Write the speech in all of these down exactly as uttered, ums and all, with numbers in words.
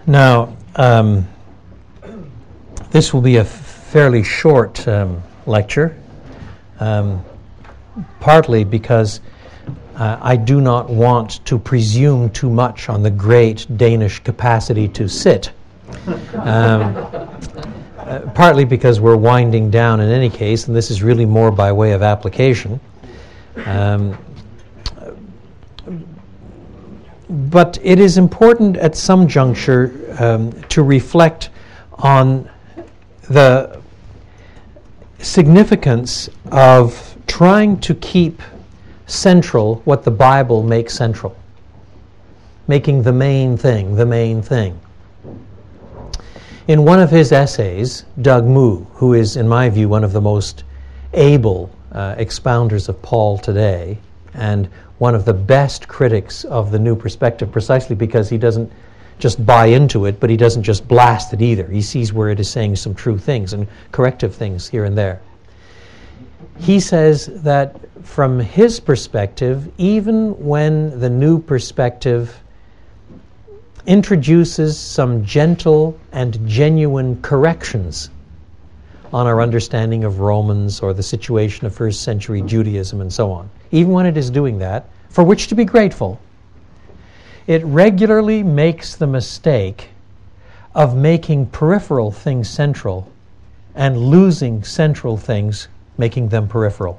Now, um, this will be a fairly short um, lecture, um, partly because uh, I do not want to presume too much on the great Danish capacity to sit. Um, uh, partly because we're winding down in any case, and this is really more by way of application. Um, But it is important at some juncture um, to reflect on the significance of trying to keep central what the Bible makes central, making the main thing the main thing. In one of his essays, Doug Moo, who is, in my view, one of the most able uh, expounders of Paul today, and one of the best critics of the New Perspective, precisely because he doesn't just buy into it, but he doesn't just blast it either. He sees where it is saying some true things and corrective things here and there. He says that from his perspective, even when the New Perspective introduces some gentle and genuine corrections on our understanding of Romans or the situation of first century Judaism and so on, even when it is doing that, for which to be grateful, it regularly makes the mistake of making peripheral things central and losing central things, making them peripheral.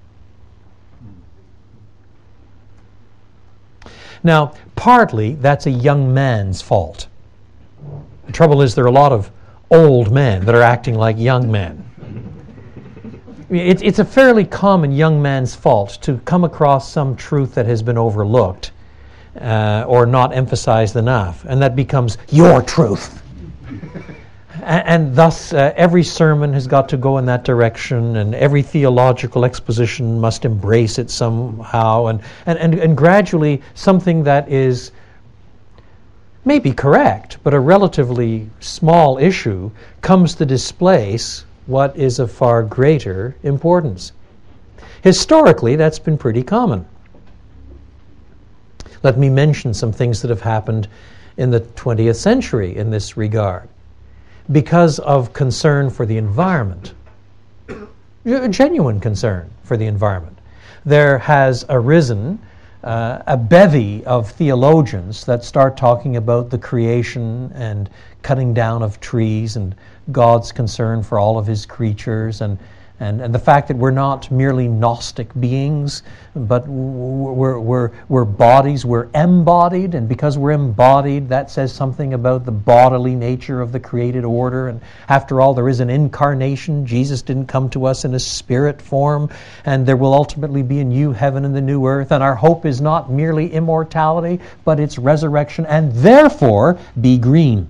Now, partly that's a young man's fault. The trouble is there are a lot of old men that are acting like young men. It's, it's a fairly common young man's fault to come across some truth that has been overlooked uh, or not emphasized enough, and that becomes your truth. and, and thus, uh, every sermon has got to go in that direction, and every theological exposition must embrace it somehow, and, and, and, and gradually something that is may be correct, but a relatively small issue comes to displace what is of far greater importance. Historically, that's been pretty common. Let me mention some things that have happened in the twentieth century in this regard. Because of concern for the environment, a genuine concern for the environment, there has arisen Uh, a bevy of theologians that start talking about the creation and cutting down of trees and God's concern for all of his creatures and, and, and the fact that we're not merely Gnostic beings, but we're, we're, we're bodies, we're embodied, and because we're embodied, that says something about the bodily nature of the created order. And after all, there is an incarnation. Jesus didn't come to us in a spirit form, and there will ultimately be a new heaven and the new earth, and our hope is not merely immortality, but it's resurrection, and therefore, be green.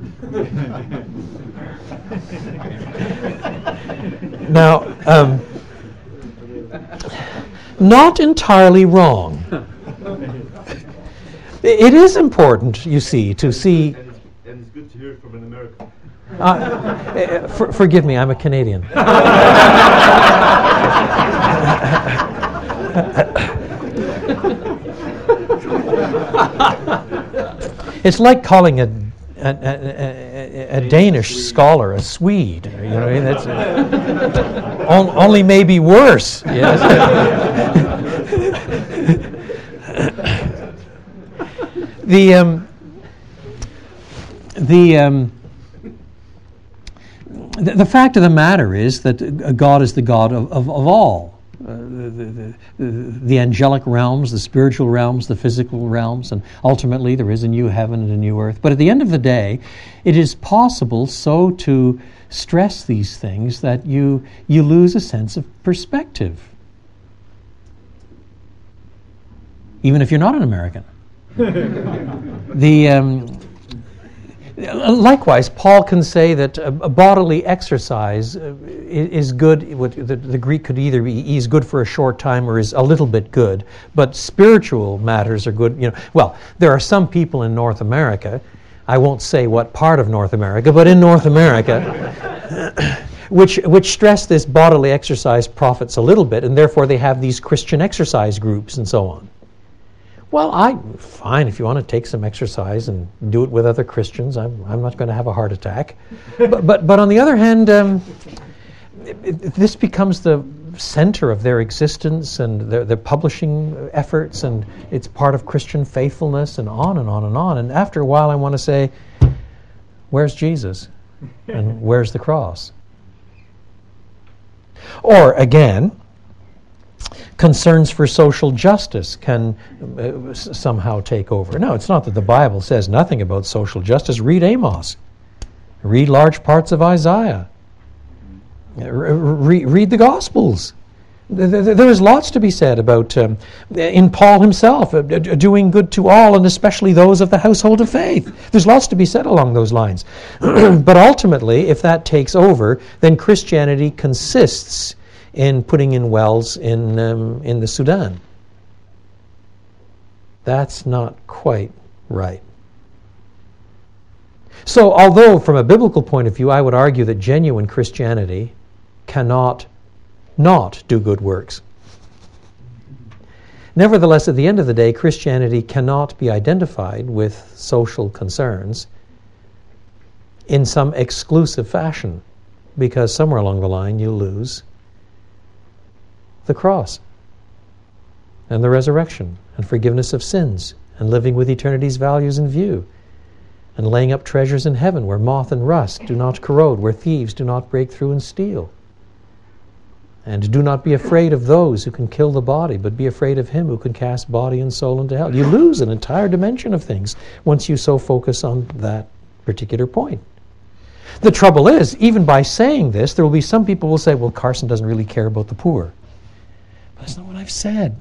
Now, um, not entirely wrong. It is important, you see, to see... And it's, and it's good to hear it from an American. Uh, for, forgive me, I'm a Canadian. It's like calling a A, a, a, a Danish scholar a Swede, you know. That's uh, on, only maybe worse. Yes. the um, the, um, the the fact of the matter is that God is the God of, of, of all. Uh, the, the, the, the angelic realms, the spiritual realms, the physical realms, and ultimately there is a new heaven and a new earth. But at the end of the day, it is possible so to stress these things that you you lose a sense of perspective, even if you're not an American. the um, Likewise, Paul can say that a, a bodily exercise uh, is good. The, the Greek could either be is good for a short time or is a little bit good, but spiritual matters are good. You know, well, there are some people in North America, I won't say what part of North America, but in North America, which which stress this bodily exercise profits a little bit, and therefore they have these Christian exercise groups and so on. Well, I fine if you want to take some exercise and do it with other Christians. I'm I'm not going to have a heart attack. but, but but on the other hand, um, it, it, this becomes the center of their existence and their, their publishing efforts, and it's part of Christian faithfulness, and on and on and on. And after a while, I want to say, where's Jesus, and where's the cross? Or again, concerns for social justice can uh, s- somehow take over. No, it's not that the Bible says nothing about social justice. Read Amos. Read large parts of Isaiah. Uh, re- read the Gospels. Th- th- there is lots to be said about, um, in Paul himself, uh, d- doing good to all, and especially those of the household of faith. There's lots to be said along those lines. But ultimately, if that takes over, then Christianity consists in putting in wells in um, in the Sudan. That's not quite right. So, although from a biblical point of view, I would argue that genuine Christianity cannot not do good works. Nevertheless, at the end of the day, Christianity cannot be identified with social concerns in some exclusive fashion, because somewhere along the line you lose the cross and the resurrection and forgiveness of sins and living with eternity's values in view and laying up treasures in heaven where moth and rust do not corrode, where thieves do not break through and steal. And do not be afraid of those who can kill the body, but be afraid of him who can cast body and soul into hell. You lose an entire dimension of things once you so focus on that particular point. The trouble is, even by saying this, there will be some people who will say, well, Carson doesn't really care about the poor. That's not what I've said.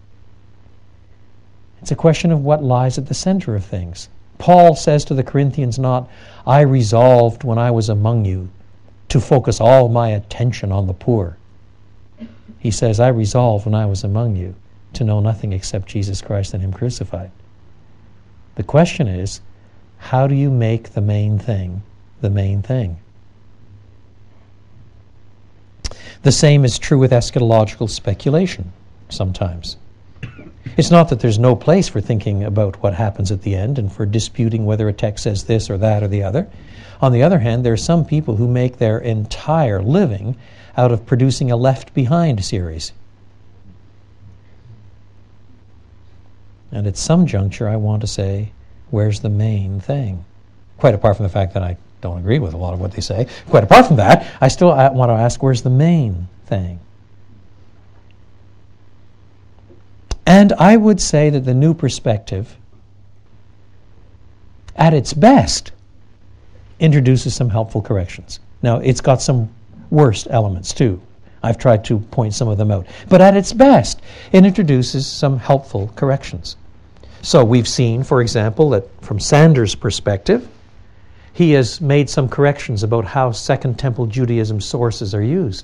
It's a question of what lies at the center of things. Paul says to the Corinthians not, I resolved when I was among you to focus all my attention on the poor. He says, I resolved when I was among you to know nothing except Jesus Christ and him crucified. The question is, how do you make the main thing the main thing? The same is true with eschatological speculation sometimes. It's not that there's no place for thinking about what happens at the end and for disputing whether a text says this or that or the other. On the other hand, there are some people who make their entire living out of producing a Left Behind series. And at some juncture, I want to say, where's the main thing? Quite apart from the fact that I don't agree with a lot of what they say. Quite apart from that, I still want to ask, where's the main thing? And I would say that the new perspective, at its best, introduces some helpful corrections. Now, it's got some worst elements too. I've tried to point some of them out. But at its best, it introduces some helpful corrections. So we've seen, for example, that from Sanders' perspective, he has made some corrections about how Second Temple Judaism sources are used,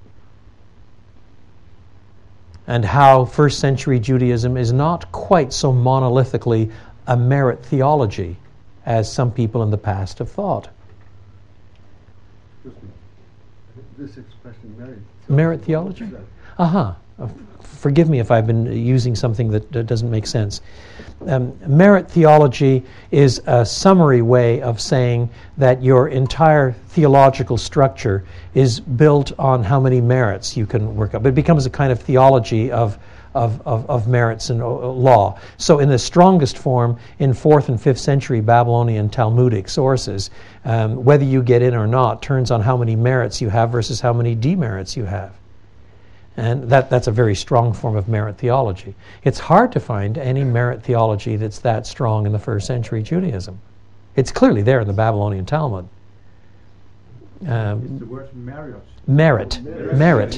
and how first century Judaism is not quite so monolithically a merit theology as some people in the past have thought. Excuse me. This expression, merit. Merit theology? Uh-huh. Uh, Forgive me if I've been using something that uh, doesn't make sense. Um, merit theology is a summary way of saying that your entire theological structure is built on how many merits you can work up. It becomes a kind of theology of Of, of, of merits and uh, law. So in the strongest form, in fourth and fifth century Babylonian Talmudic sources, um, whether you get in or not turns on how many merits you have versus how many demerits you have. And that, that's a very strong form of merit theology. It's hard to find any merit theology that's that strong in the first century Judaism. It's clearly there in the Babylonian Talmud. Um, It's the word merit. merit. Merit.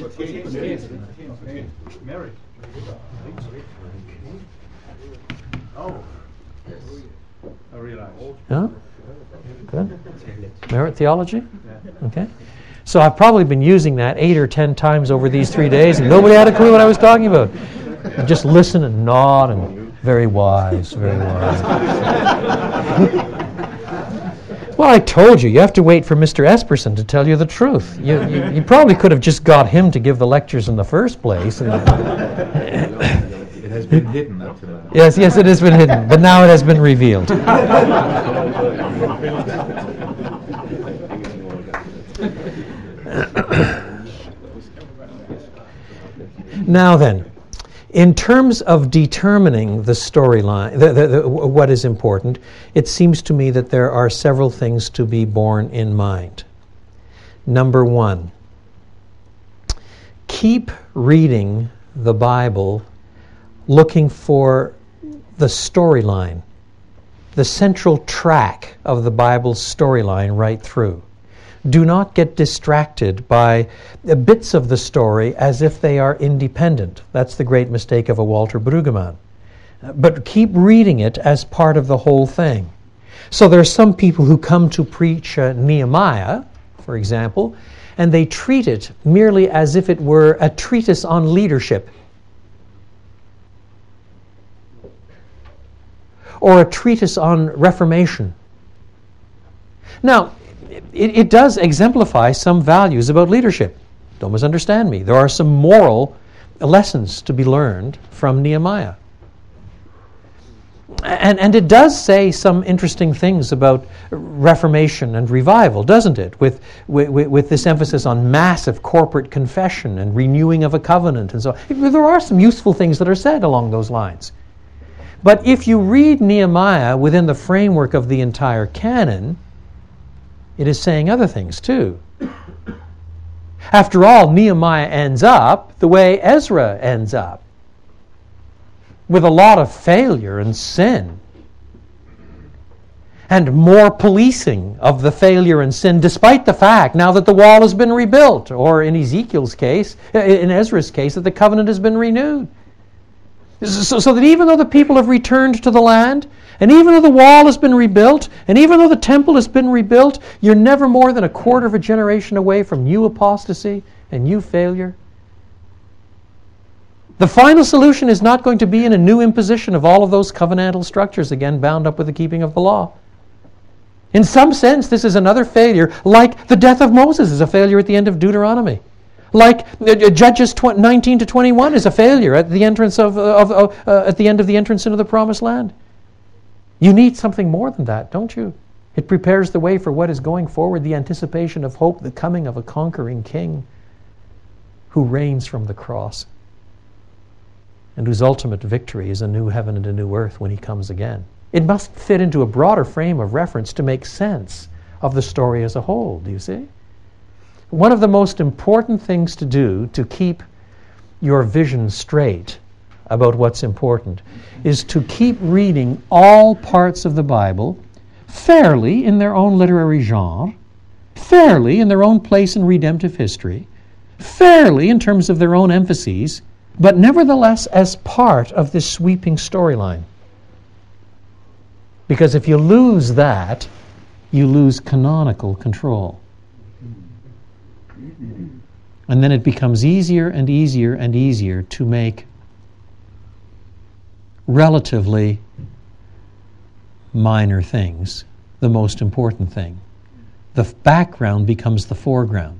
Merit. Oh, I realize. Huh? Good. Merit theology? Okay. So I've probably been using that eight or ten times over these three days, and nobody had a clue what I was talking about. Just listen and nod, and very wise, very wise. Well, I told you, you have to wait for Mister Esperson to tell you the truth. You, you, you probably could have just got him to give the lectures in the first place. And It has has been hidden until now. Yes, yes, it has been hidden, but now it has been revealed. Now then, in terms of determining the storyline, the, the, the, what is important, it seems to me that there are several things to be borne in mind. Number one, keep reading the Bible looking for the storyline, the central track of the Bible's storyline right through. Do not get distracted by bits of the story as if they are independent. That's the great mistake of a Walter Brueggemann. But keep reading it as part of the whole thing. So there are some people who come to preach uh, Nehemiah, for example, and they treat it merely as if it were a treatise on leadership, or a treatise on reformation. Now, it, it does exemplify some values about leadership. Don't misunderstand me. There are some moral lessons to be learned from Nehemiah. And, and it does say some interesting things about reformation and revival, doesn't it? With, with, with this emphasis on massive corporate confession and renewing of a covenant and so on. There are some useful things that are said along those lines. But if you read Nehemiah within the framework of the entire canon, it is saying other things too. After all, Nehemiah ends up the way Ezra ends up, with a lot of failure and sin, and more policing of the failure and sin, despite the fact now that the wall has been rebuilt, or in Ezekiel's case, in Ezra's case, that the covenant has been renewed. So, so that even though the people have returned to the land, and even though the wall has been rebuilt, and even though the temple has been rebuilt, you're never more than a quarter of a generation away from new apostasy and new failure. The final solution is not going to be in a new imposition of all of those covenantal structures, again bound up with the keeping of the law. In some sense, this is another failure, like the death of Moses is a failure at the end of Deuteronomy. Like uh, Judges nineteen to twenty-one is a failure at the entrance of, of, of uh, at the end of the entrance into the Promised Land. You need something more than that, don't you? It prepares the way for what is going forward, the anticipation of hope, the coming of a conquering king who reigns from the cross, and whose ultimate victory is a new heaven and a new earth when he comes again. It must fit into a broader frame of reference to make sense of the story as a whole, do you see? One of the most important things to do to keep your vision straight about what's important is to keep reading all parts of the Bible fairly in their own literary genre, fairly in their own place in redemptive history, fairly in terms of their own emphases, but nevertheless as part of this sweeping storyline. Because if you lose that, you lose canonical control. And then it becomes easier and easier and easier to make relatively minor things the most important thing. The background becomes the foreground.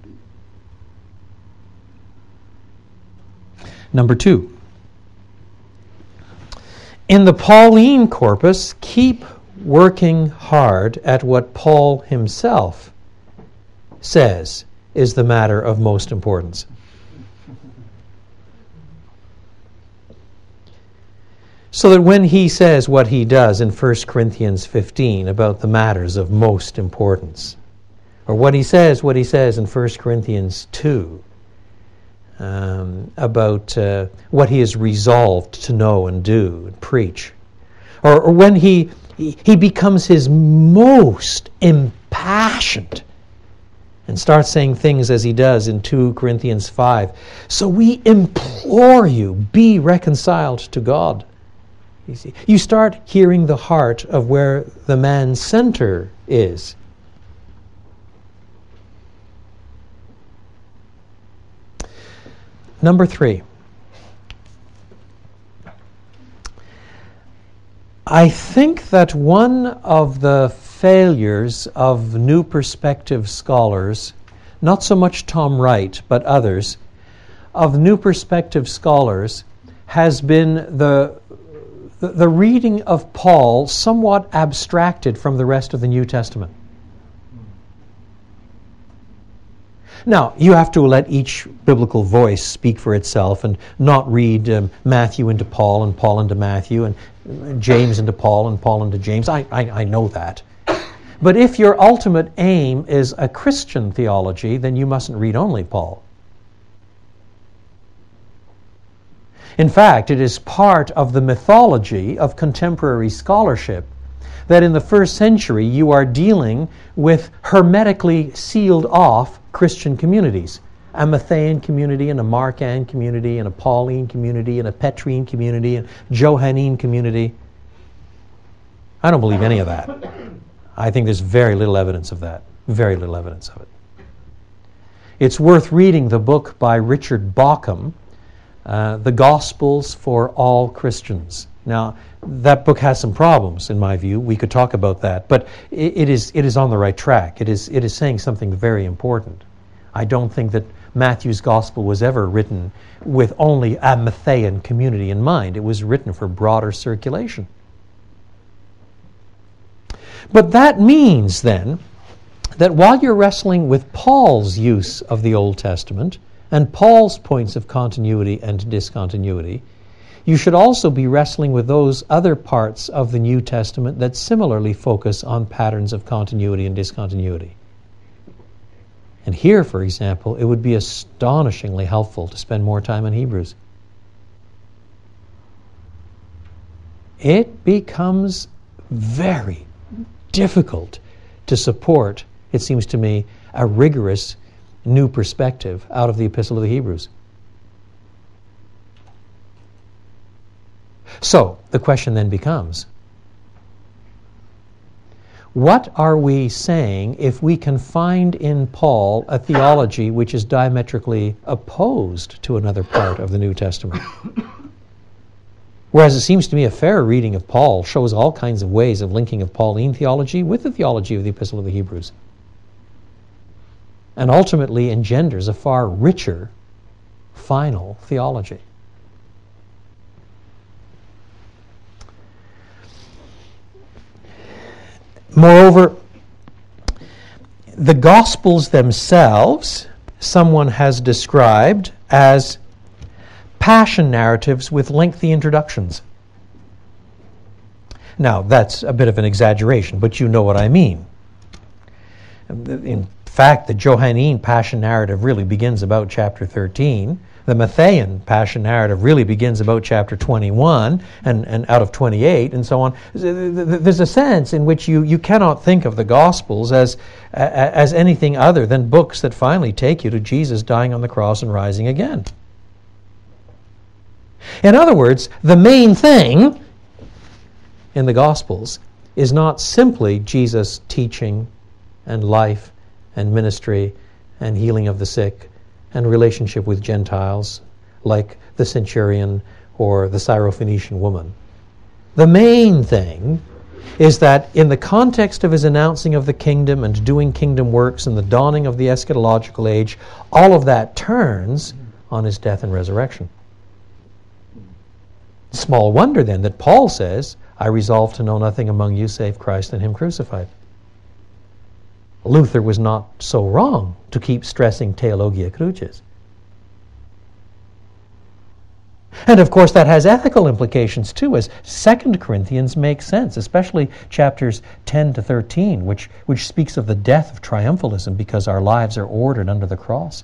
Number two, in the Pauline corpus, keep working hard at what Paul himself says is the matter of most importance. So that when he says what he does in First Corinthians fifteen about the matters of most importance, or what he says, what he says in First Corinthians two um, about uh, what he is resolved to know and do and preach, or, or when he, he he becomes his most impassioned and starts saying things as he does in two Corinthians five. So we implore you, be reconciled to God. You see, you start hearing the heart of where the man's center is. Number three. I think that one of the failures of New Perspective scholars, not so much Tom Wright, but others, of New Perspective scholars, has been the, the, the reading of Paul somewhat abstracted from the rest of the New Testament. Now, you have to let each biblical voice speak for itself and not read um, Matthew into Paul and Paul into Matthew and James into Paul and Paul into James. I, I, I know that. But if your ultimate aim is a Christian theology, then you mustn't read only Paul. In fact, it is part of the mythology of contemporary scholarship that in the first century you are dealing with hermetically sealed off Christian communities. A Matthean community and a Markan community and a Pauline community and a Petrine community and Johannine community. I don't believe any of that. I think there's very little evidence of that. Very little evidence of it. It's worth reading the book by Richard Bauckham, uh, The Gospels for All Christians. Now, that book has some problems, in my view. We could talk about that, but it, it is it is on the right track. It is it is saying something very important. I don't think that Matthew's Gospel was ever written with only a Matthean community in mind. It was written for broader circulation. But that means, then, that while you're wrestling with Paul's use of the Old Testament and Paul's points of continuity and discontinuity, you should also be wrestling with those other parts of the New Testament that similarly focus on patterns of continuity and discontinuity. And here, for example, it would be astonishingly helpful to spend more time in Hebrews. It becomes very difficult to support, it seems to me, a rigorous new perspective out of the Epistle of the Hebrews. So, the question then becomes, what are we saying if we can find in Paul a theology which is diametrically opposed to another part of the New Testament? Whereas it seems to me a fair reading of Paul shows all kinds of ways of linking of Pauline theology with the theology of the Epistle of the Hebrews, and ultimately engenders a far richer final theology. Moreover, the Gospels themselves, someone has described as passion narratives with lengthy introductions. Now, that's a bit of an exaggeration, but you know what I mean. In fact, the Johannine passion narrative really begins about chapter thirteen. The Matthean passion narrative really begins about chapter twenty-one and, and out of twenty-eight and so on. There's a sense in which you, you cannot think of the Gospels as, as anything other than books that finally take you to Jesus dying on the cross and rising again. In other words, the main thing in the Gospels is not simply Jesus' teaching and life and ministry and healing of the sick and relationship with Gentiles, like the centurion or the Syrophoenician woman. The main thing is that in the context of his announcing of the kingdom and doing kingdom works and the dawning of the eschatological age, all of that turns on his death and resurrection. Small wonder then that Paul says, I resolve to know nothing among you save Christ and him crucified. Luther was not so wrong to keep stressing Theologia Crucis. And of course that has ethical implications too, as Second Corinthians makes sense, especially chapters ten to thirteen, which, which speaks of the death of triumphalism because our lives are ordered under the cross.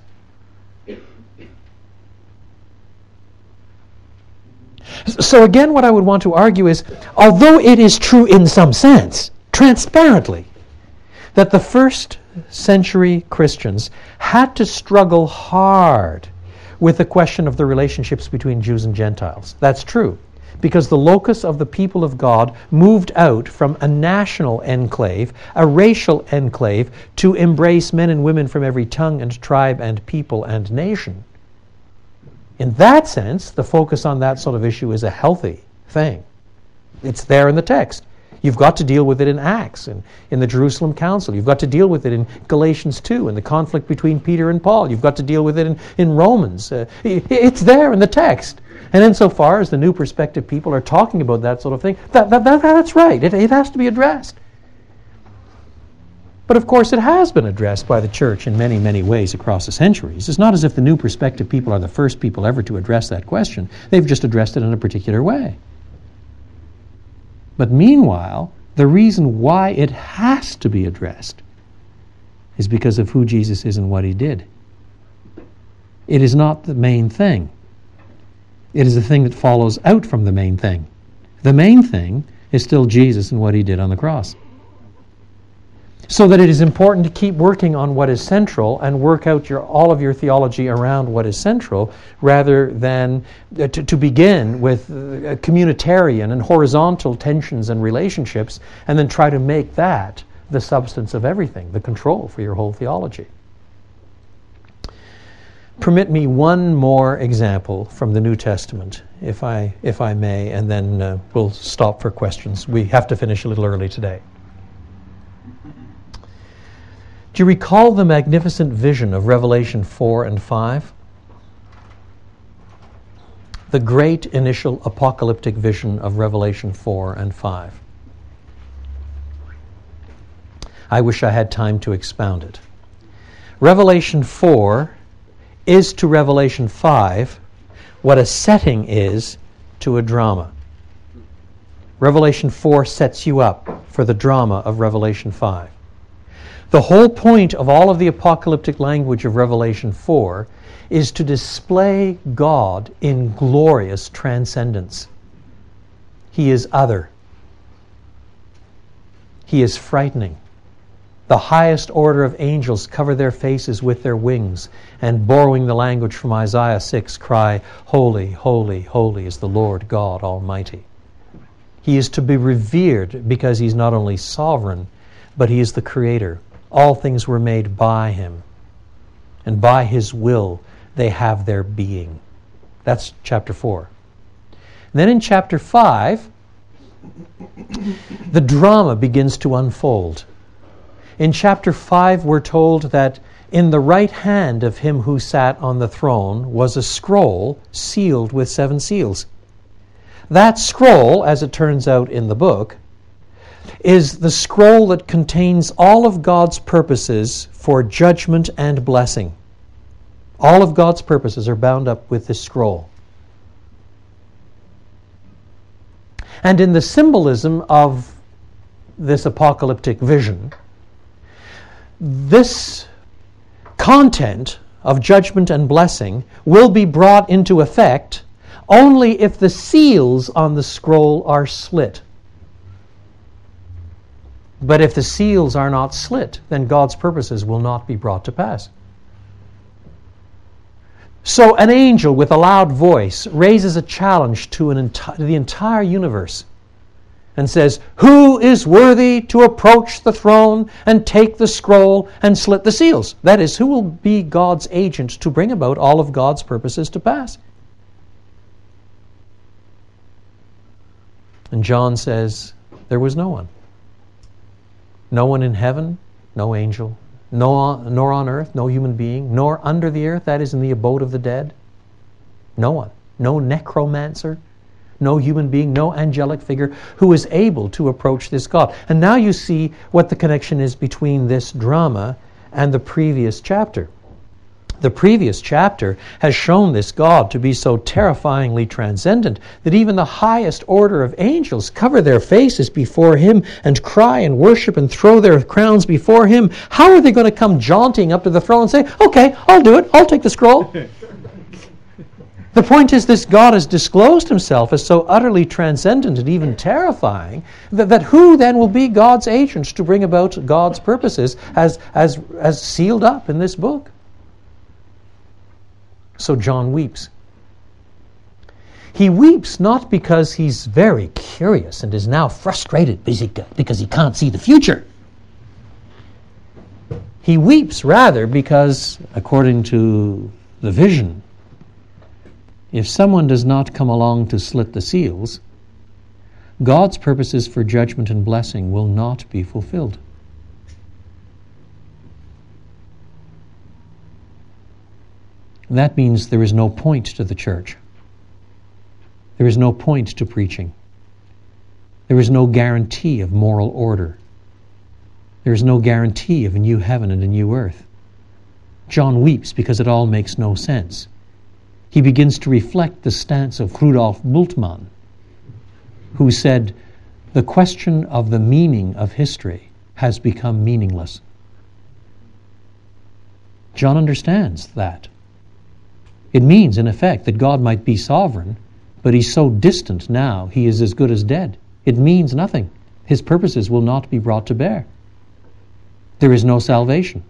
So again, what I would want to argue is, although it is true in some sense, transparently, that the first century Christians had to struggle hard with the question of the relationships between Jews and Gentiles. That's true, because the locus of the people of God moved out from a national enclave, a racial enclave, to embrace men and women from every tongue and tribe and people and nation. In that sense, the focus on that sort of issue is a healthy thing. It's there in the text. You've got to deal with it in Acts and in the Jerusalem Council. You've got to deal with it in Galatians two and the conflict between Peter and Paul. You've got to deal with it in, in Romans. Uh, it's there in the text. And insofar as the New Perspective people are talking about that sort of thing, that, that, that, that's right. It, it has to be addressed. But of course it has been addressed by the church in many, many ways across the centuries. It's not as if the New Perspective people are the first people ever to address that question. They've just addressed it in a particular way. But meanwhile, the reason why it has to be addressed is because of who Jesus is and what he did. It is not the main thing. It is the thing that follows out from the main thing. The main thing is still Jesus and what he did on the cross. So that it is important to keep working on what is central and work out your all of your theology around what is central, rather than uh, to, to begin with uh, communitarian and horizontal tensions and relationships, and then try to make that the substance of everything, the control for your whole theology. Permit me one more example from the New Testament, if I if I may, and then uh, we'll stop for questions. We have to finish a little early today. Do you recall the magnificent vision of Revelation four and five? The great initial apocalyptic vision of Revelation four and five. I wish I had time to expound it. Revelation four is to Revelation five what a setting is to a drama. Revelation four sets you up for the drama of Revelation five. The whole point of all of the apocalyptic language of Revelation four is to display God in glorious transcendence. He is other. He is frightening. The highest order of angels cover their faces with their wings, and borrowing the language from Isaiah six, cry, "Holy, holy, holy is the Lord God Almighty." He is to be revered because he's not only sovereign, but he is the creator. All things were made by him, and by his will they have their being. That's chapter four. Then in chapter five, the drama begins to unfold. In chapter five, we're told that in the right hand of him who sat on the throne was a scroll sealed with seven seals. That scroll, as it turns out in the book, is the scroll that contains all of God's purposes for judgment and blessing. All of God's purposes are bound up with this scroll. And in the symbolism of this apocalyptic vision, this content of judgment and blessing will be brought into effect only if the seals on the scroll are slit. But if the seals are not slit, then God's purposes will not be brought to pass. So an angel with a loud voice raises a challenge to, an enti- to the entire universe and says, "Who is worthy to approach the throne and take the scroll and slit the seals?" That is, who will be God's agent to bring about all of God's purposes to pass? And John says, there was no one. No one in heaven, no angel, no, nor on earth, no human being, nor under the earth, that is in the abode of the dead. No one. No necromancer, no human being, no angelic figure who is able to approach this God. And now you see what the connection is between this drama and the previous chapter. The previous chapter has shown this God to be so terrifyingly transcendent that even the highest order of angels cover their faces before him and cry and worship and throw their crowns before him. How are they going to come jaunting up to the throne and say, "Okay, I'll do it, I'll take the scroll"? The point is, this God has disclosed himself as so utterly transcendent and even terrifying that, that who then will be God's agent to bring about God's purposes as, as, as sealed up in this book? So John weeps. He weeps not because he's very curious and is now frustrated because he can't see the future. He weeps rather because, according to the vision, if someone does not come along to slit the seals, God's purposes for judgment and blessing will not be fulfilled. That means there is no point to the church. There is no point to preaching. There is no guarantee of moral order. There is no guarantee of a new heaven and a new earth. John weeps because it all makes no sense. He begins to reflect the stance of Rudolf Bultmann, who said, the question of the meaning of history has become meaningless. John understands that. It means, in effect, that God might be sovereign, but he's so distant now, he is as good as dead. It means nothing. His purposes will not be brought to bear. There is no salvation.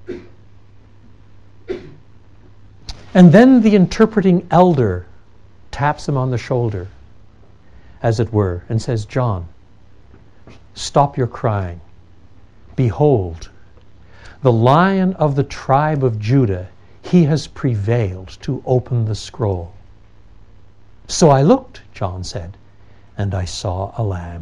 And then the interpreting elder taps him on the shoulder, as it were, and says, John, stop your crying. Behold, the Lion of the tribe of Judah, he has prevailed to open the scroll. So I looked, John said, and I saw a lamb.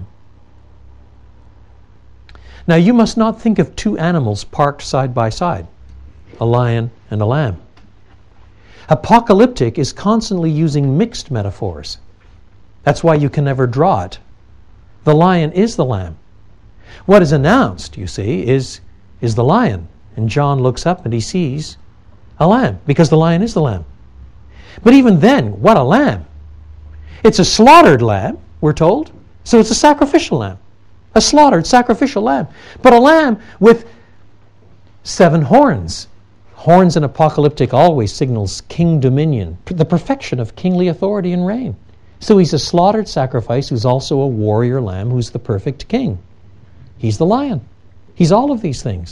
Now you must not think of two animals parked side by side, a lion and a lamb. Apocalyptic is constantly using mixed metaphors. That's why you can never draw it. The lion is the lamb. What is announced, you see, is, is the lion. And John looks up and he sees a lamb, because the lion is the lamb. But even then, what a lamb. It's a slaughtered lamb, we're told. So it's a sacrificial lamb. A slaughtered sacrificial lamb. But a lamb with seven horns. Horns in apocalyptic always signals king dominion, the perfection of kingly authority and reign. So he's a slaughtered sacrifice who's also a warrior lamb who's the perfect king. He's the lion. He's all of these things.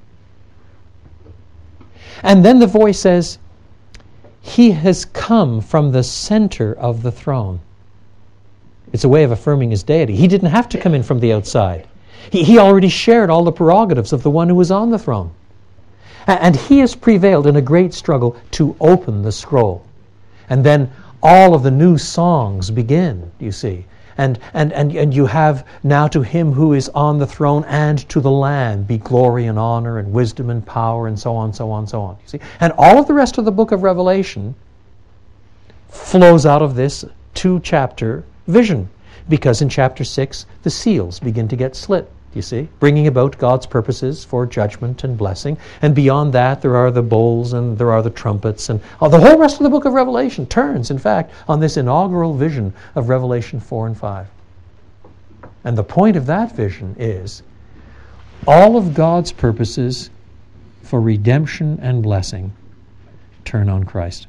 And then the voice says, he has come from the center of the throne. It's a way of affirming his deity. He didn't have to come in from the outside. He, he already shared all the prerogatives of the one who was on the throne. And he has prevailed in a great struggle to open the scroll. And then all of the new songs begin, you see. And, and, and, and you have now to him who is on the throne and to the Lamb be glory and honor and wisdom and power and so on, so on, so on. You see? And all of the rest of the book of Revelation flows out of this two-chapter vision. Because in chapter six, the seals begin to get slit. You see, bringing about God's purposes for judgment and blessing. And beyond that, there are the bowls and there are the trumpets. And oh, the whole rest of the book of Revelation turns, in fact, on this inaugural vision of Revelation four and five. And the point of that vision is all of God's purposes for redemption and blessing turn on Christ.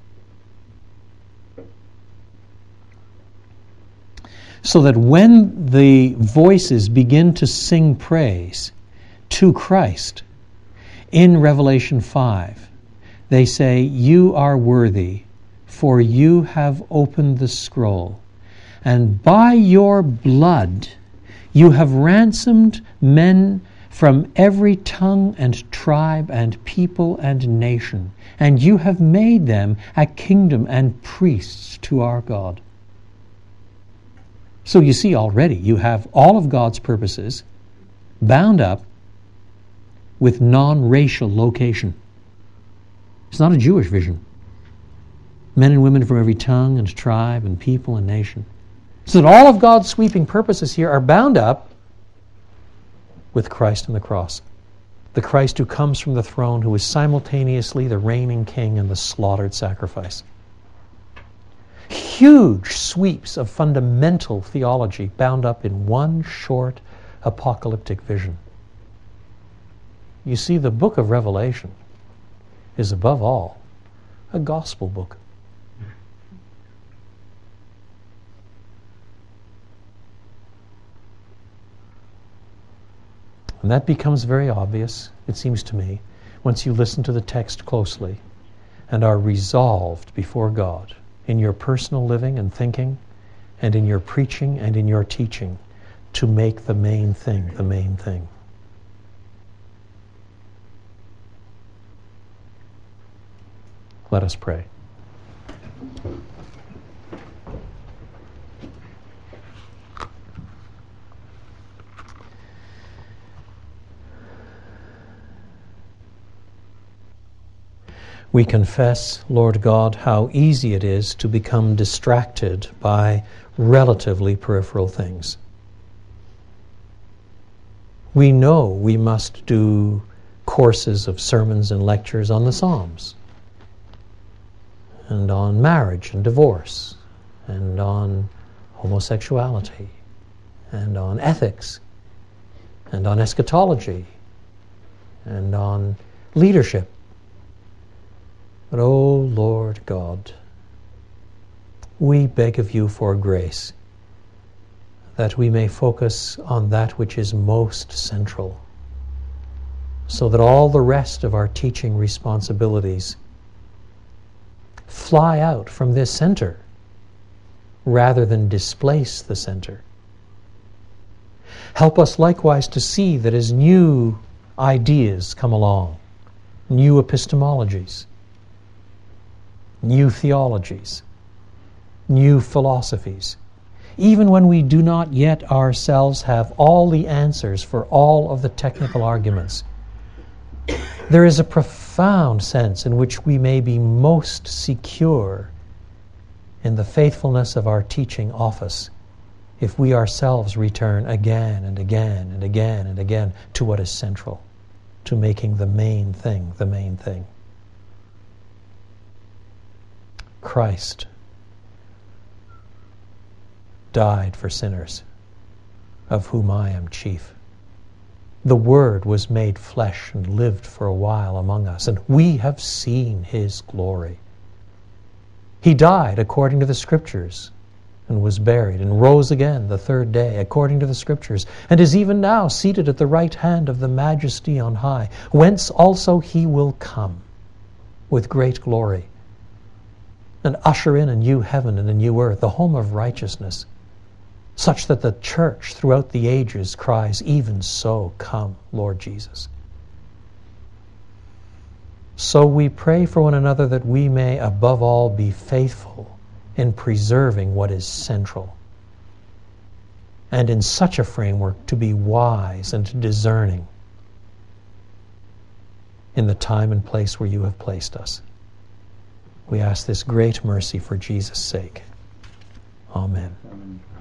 So that when the voices begin to sing praise to Christ in Revelation five, they say, you are worthy, for you have opened the scroll, and by your blood you have ransomed men from every tongue and tribe and people and nation, and you have made them a kingdom and priests to our God. So you see already, you have all of God's purposes bound up with non-racial location. It's not a Jewish vision. Men and women from every tongue and tribe and people and nation. So that all of God's sweeping purposes here are bound up with Christ and the cross. The Christ who comes from the throne, who is simultaneously the reigning king and the slaughtered sacrifice. Huge sweeps of fundamental theology bound up in one short apocalyptic vision. You see, the book of Revelation is above all a gospel book. And that becomes very obvious, it seems to me, once you listen to the text closely and are resolved before God in your personal living and thinking, and in your preaching and in your teaching, to make the main thing the main thing. Let us pray. We confess, Lord God, how easy it is to become distracted by relatively peripheral things. We know we must do courses of sermons and lectures on the Psalms, and on marriage and divorce, and on homosexuality, and on ethics, and on eschatology, and on leadership. But, oh Lord God, we beg of you for grace that we may focus on that which is most central, so that all the rest of our teaching responsibilities fly out from this center rather than displace the center. Help us likewise to see that as new ideas come along, new epistemologies, new theologies, new philosophies, even when we do not yet ourselves have all the answers for all of the technical arguments, there is a profound sense in which we may be most secure in the faithfulness of our teaching office if we ourselves return again and again and again and again to what is central, to making the main thing the main thing. Christ died for sinners, of whom I am chief. The Word was made flesh and lived for a while among us, and we have seen His glory. He died according to the Scriptures, and was buried, and rose again the third day according to the Scriptures, and is even now seated at the right hand of the Majesty on high, whence also He will come with great glory, and usher in a new heaven and a new earth, the home of righteousness, such that the church throughout the ages cries, "Even so, come, Lord Jesus." So we pray for one another that we may above all be faithful in preserving what is central, and in such a framework to be wise and discerning in the time and place where you have placed us. We ask this great mercy for Jesus' sake. Amen. Amen.